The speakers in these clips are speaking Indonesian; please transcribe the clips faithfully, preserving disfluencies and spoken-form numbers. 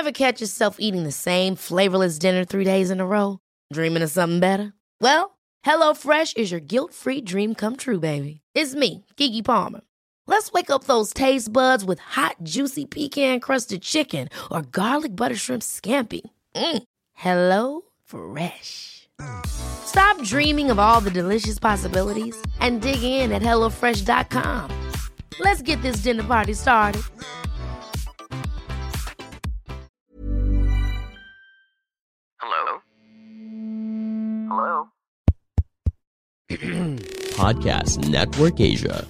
Ever catch yourself eating the same flavorless dinner three days in a row? Dreaming of something better? Well, HelloFresh is your guilt-free dream come true, baby. It's me, Keke Palmer. Let's wake up those taste buds with hot, juicy pecan-crusted chicken or garlic butter shrimp scampi. Mm. Hello Fresh. Stop dreaming of all the delicious possibilities and dig in at hello fresh dot com. Let's get this dinner party started. Hello? Hello? Podcast Network Asia.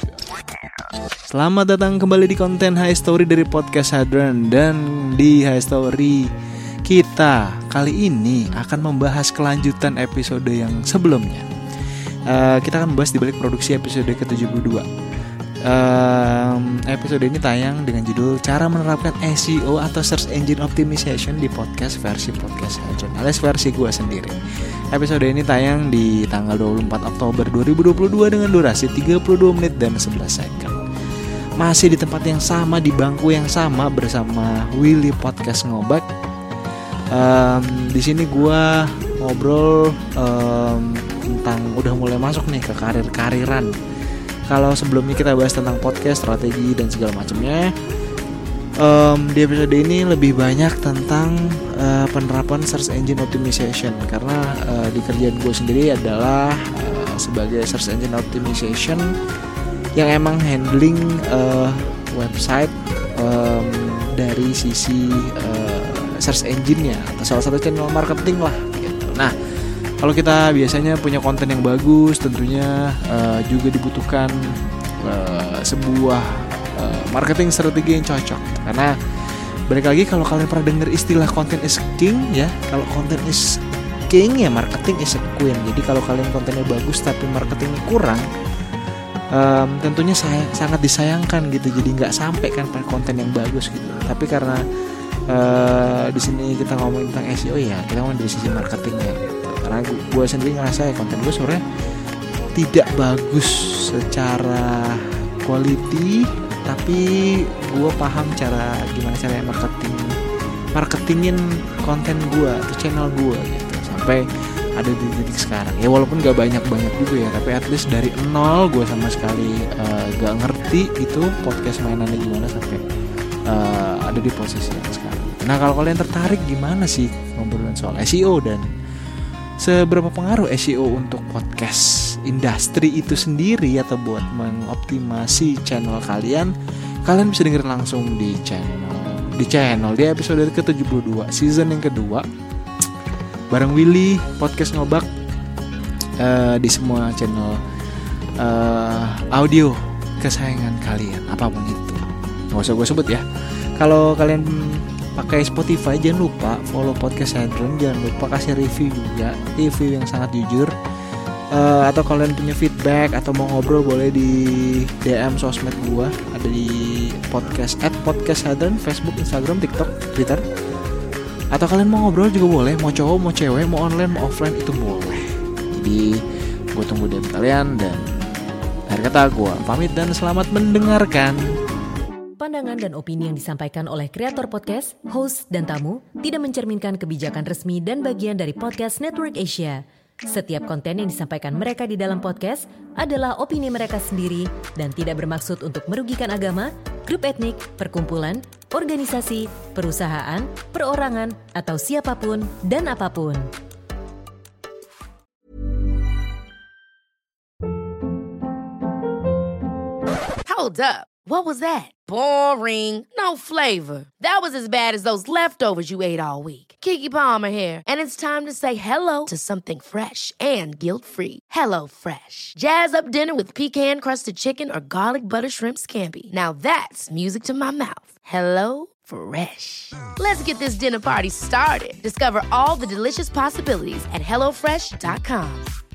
Selamat datang kembali di konten High Story dari Podcast Hadron. Dan di High Story kita kali ini akan membahas kelanjutan episode yang sebelumnya. uh, Kita akan membahas di balik produksi episode ke tujuh puluh dua. Um, episode ini tayang dengan judul Cara Menerapkan S E O atau Search Engine Optimization di podcast versi Podcast Hadron, alias versi gue sendiri. Episode ini tayang di tanggal dua puluh empat Oktober dua ribu dua puluh dua dengan durasi tiga puluh dua menit dan sebelas second. Masih di tempat yang sama, di bangku yang sama bersama Willy Podcast Ngobak. Um, di sini gue ngobrol um, tentang udah mulai masuk nih ke karir-kariran. Kalau sebelumnya kita bahas tentang podcast, strategi dan segala macamnya, um, di episode ini lebih banyak tentang uh, penerapan search engine optimization. Karena uh, di kerjaan gue sendiri adalah uh, sebagai search engine optimization yang emang handling uh, website um, dari sisi uh, search engine-nya atau salah satu channel marketing lah gitu. Nah, kalau kita biasanya punya konten yang bagus, tentunya uh, juga dibutuhkan uh, sebuah uh, marketing strategi yang cocok. Karena balik lagi, kalau kalian pernah dengar istilah content is king ya, kalau content is king ya marketing is a queen. Jadi kalau kalian kontennya bagus tapi marketingnya kurang, um, tentunya saya, sangat disayangkan gitu. Jadi nggak sampai kan pada konten yang bagus gitu. Tapi karena uh, di sini kita ngomongin tentang S E O ya, kita ngomongin dari sisi marketingnya gitu. Karena gue sendiri ngerasa ya konten gue sebenarnya tidak bagus secara quality, tapi gue paham cara gimana caranya marketing marketingin konten gue atau channel gue gitu sampai ada di titik sekarang. Ya walaupun gak banyak-banyak juga ya, tapi at least dari nol gue sama sekali uh, gak ngerti itu podcast mainannya gimana sampai uh, ada di posisi yang sekarang. Nah, kalau kalian tertarik gimana sih ngobrolin soal S E O dan seberapa pengaruh S E O untuk podcast industri itu sendiri atau buat mengoptimasi channel kalian, kalian bisa dengerin langsung di channel di channel di episode ke tujuh puluh dua season yang kedua bareng Willy Podcast Ngobak uh, di semua channel uh, audio kesayangan kalian apapun itu. Nggak usah gue sebut ya. Kalau kalian pakai Spotify, jangan lupa follow Podcast Hadron, jangan lupa kasih review juga, review yang sangat jujur. Uh, atau kalian punya feedback atau mau ngobrol boleh di D M sosmed gua, ada di podcast at Podcast Hadron, Facebook, Instagram, TikTok, Twitter. Atau kalian mau ngobrol juga boleh, mau cowok, mau cewek, mau online, mau offline itu boleh. Jadi gua tunggu D M kalian dan akhir kata gua pamit dan selamat mendengarkan. Pandangan dan opini yang disampaikan oleh kreator podcast, host, dan tamu tidak mencerminkan kebijakan resmi dan bagian dari Podcast Network Asia. Setiap konten yang disampaikan mereka di dalam podcast adalah opini mereka sendiri dan tidak bermaksud untuk merugikan agama, grup etnik, perkumpulan, organisasi, perusahaan, perorangan, atau siapapun dan apapun. Hold up. What was that? Boring. No flavor. That was as bad as those leftovers you ate all week. Keke Palmer here, and it's time to say hello to something fresh and guilt-free. Hello Fresh. Jazz up dinner with pecan-crusted chicken or garlic butter shrimp scampi. Now that's music to my mouth. Hello Fresh. Let's get this dinner party started. Discover all the delicious possibilities at hello fresh dot com.